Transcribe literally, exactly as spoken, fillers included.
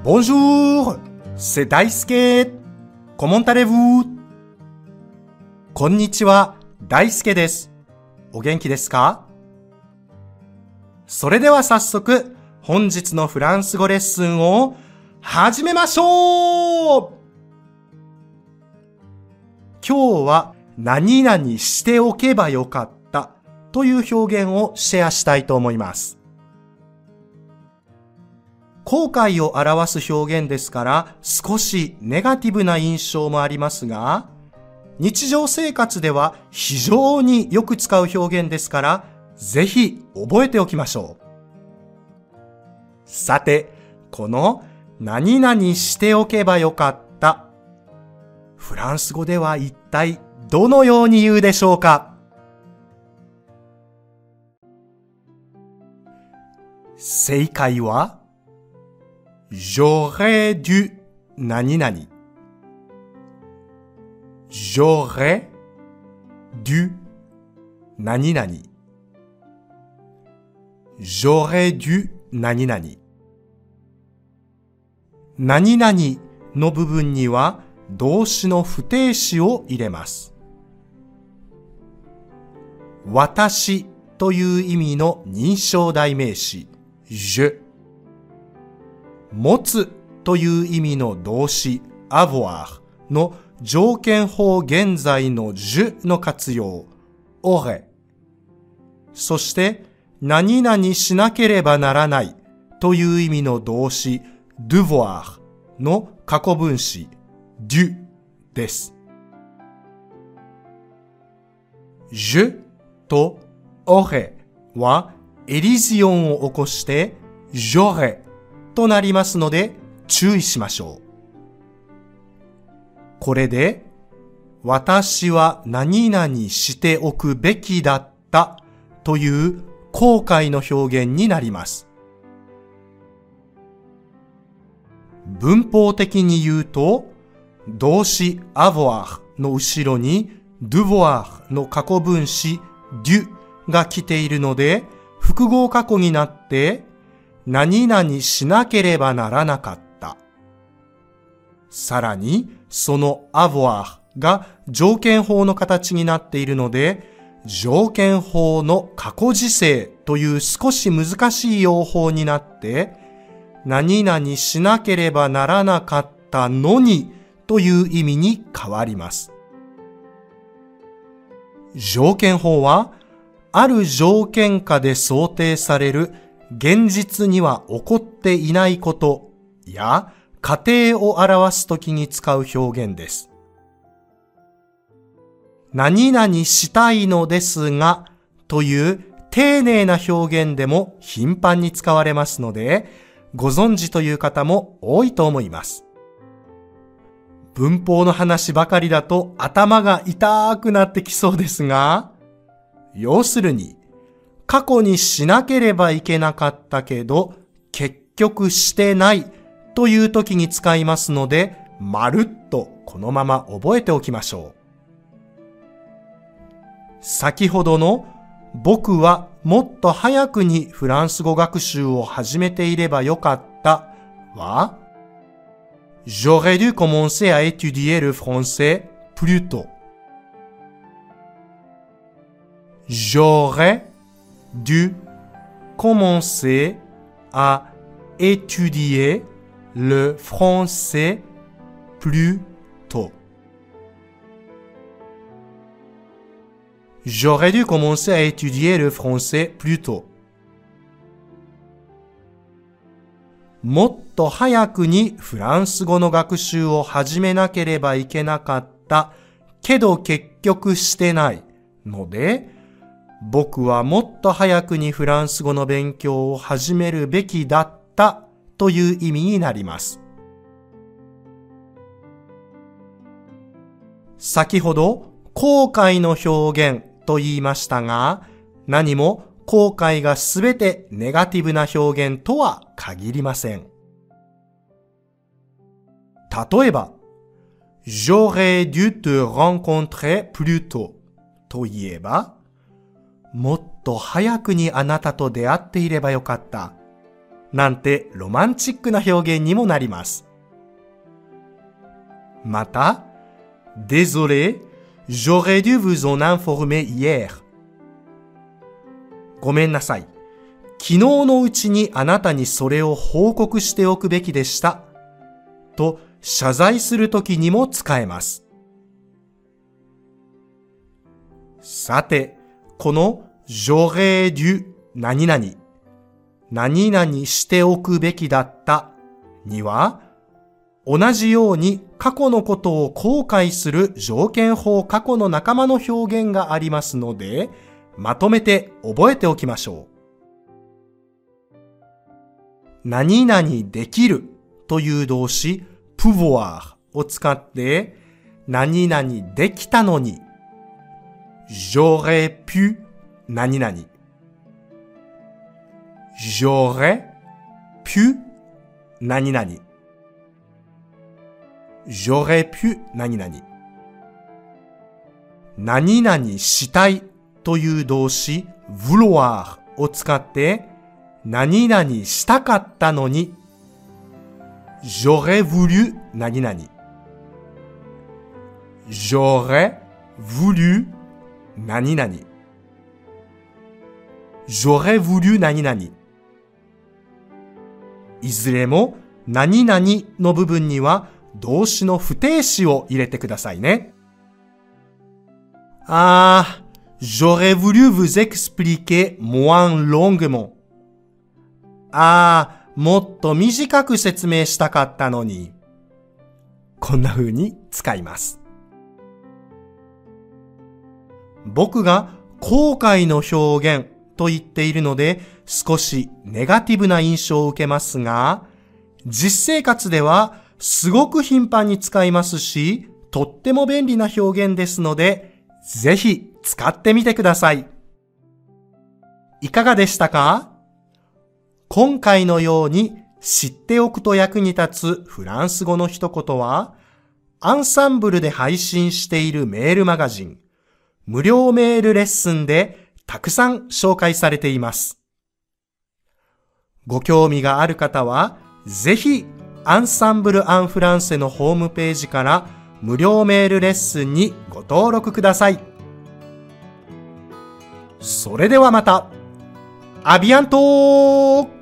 Bonjour, c'est Daisuke. Comment allez-vous? こんにちは、大輔です。お元気ですか？それでは早速、本日のフランス語レッスンを始めましょう！今日は何々しておけばよかったという表現をシェアしたいと思います。後悔を表す表現ですから少しネガティブな印象もありますが、日常生活では非常によく使う表現ですから、ぜひ覚えておきましょう。さて、この何々しておけばよかった。フランス語では一体どのように言うでしょうか？正解は、j'aurais dû 何々。j'aurais dû 何々。j'aurais dû 何々。何々の部分には動詞の不定詞を入れます。私という意味の認証代名詞、je。持つという意味の動詞、avoir の条件法現在の je の活用、aurait。そして、何々しなければならないという意味の動詞、devoir の過去分詞、dû です。je と aurait はエリジオンを起こして、j'auraisとなりますので注意しましょう。これで、私は何々しておくべきだったという後悔の表現になります。文法的に言うと、動詞 avoir の後ろに devoir の過去分詞 dû が来ているので、複合過去になって、何々しなければならなかった。さらに、その avoir が条件法の形になっているので、条件法の過去時制という少し難しい用法になって、何々しなければならなかったのにという意味に変わります。条件法は、ある条件下で想定される現実には起こっていないことや過程を表すときに使う表現です。何々したいのですがという丁寧な表現でも頻繁に使われますので、ご存知という方も多いと思います。文法の話ばかりだと頭が痛くなってきそうですが、要するに、過去にしなければいけなかったけど、結局してないという時に使いますので、まるっとこのまま覚えておきましょう。先ほどの僕はもっと早くにフランス語学習を始めていればよかったは、j'aurais dû commencer à étudier le français plus tôt. J'aurais dû commencer à étudier le français plus tôt. J'aurais dû commencer à étudier le français plus tôt. もっと早くにフランス語の学習を始めなければいけなかったけど結局してないので、僕はもっと早くにフランス語の勉強を始めるべきだったという意味になります。先ほど後悔の表現と言いましたが、何も後悔がすべてネガティブな表現とは限りません。例えば、j'aurais dû te rencontrer plus tôt と言えば、もっと早くにあなたと出会っていればよかったなんてロマンチックな表現にもなります。また、Désolé, j'aurais dû vous en informer hier. ごめんなさい。昨日のうちにあなたにそれを報告しておくべきでした。と謝罪するときにも使えます。さて、この j'aurais dû 何々、何々しておくべきだったには、同じように過去のことを後悔する条件法過去の仲間の表現がありますので、まとめて覚えておきましょう。何々できるという動詞 pouvoir を使って、何々できたのに、j'aurais pu 何々、j'aurais pu 何々、j'aurais pu 何々。何々したいという動詞 vouloir を使って何々したかったのに j'aurais voulu 何々。j'aurais voulu 何々。j'aurais voulu 何々。いずれも何々の部分には動詞の不定詞を入れてくださいね。あー、j'aurais voulu vous expliquer moins longuement. あー、もっと短く説明したかったのに。こんな風に使います。僕が後悔の表現と言っているので少しネガティブな印象を受けますが、実生活ではすごく頻繁に使いますし、とっても便利な表現ですので、ぜひ使ってみてください。いかがでしたか？今回のように知っておくと役に立つフランス語の一言は、アンサンブルで配信しているメールマガジン、無料メールレッスンでたくさん紹介されています。ご興味がある方は、ぜひアンサンブル・アン・フランセのホームページから無料メールレッスンにご登録ください。それではまた。アビアントー